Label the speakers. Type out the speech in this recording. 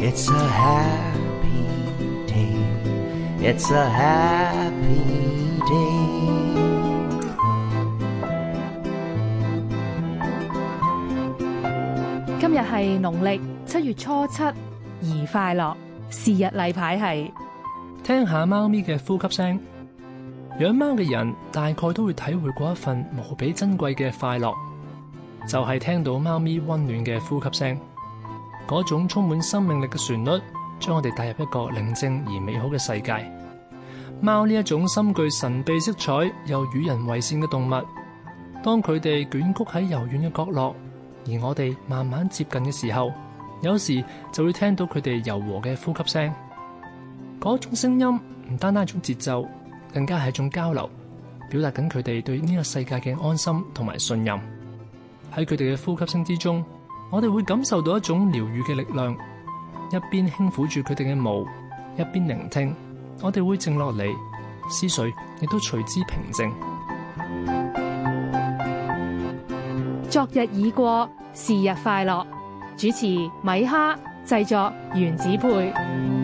Speaker 1: It's a happy day. It's a happy day.
Speaker 2: 今日係農曆7月初7，宜快樂。是日例牌係
Speaker 3: 聽下貓咪嘅呼吸聲。養貓嘅人大概都會體會過一份無比珍貴嘅快樂，就係聽到貓咪溫暖嘅呼吸聲。嗰種充滿生命力嘅旋律，將我哋帶入一個寧靜而美好嘅世界。貓呢一種深具神秘色彩又與人為善嘅動物，當佢哋捲曲喺柔軟嘅角落，而我哋慢慢接近嘅時候，有時就會聽到佢哋柔和嘅呼吸聲。嗰種聲音唔單單係一種節奏，更加係一種交流，表達緊佢哋對呢個世界嘅安心同埋信任。喺佢哋嘅呼吸聲之中，我哋會感受到一種療癒嘅力量。一邊輕撫住佢哋嘅毛，一邊聆聽，我哋會靜落嚟，思緒亦都隨之平靜。
Speaker 2: 昨日已過，是日快樂。主持米哈，製作原子配。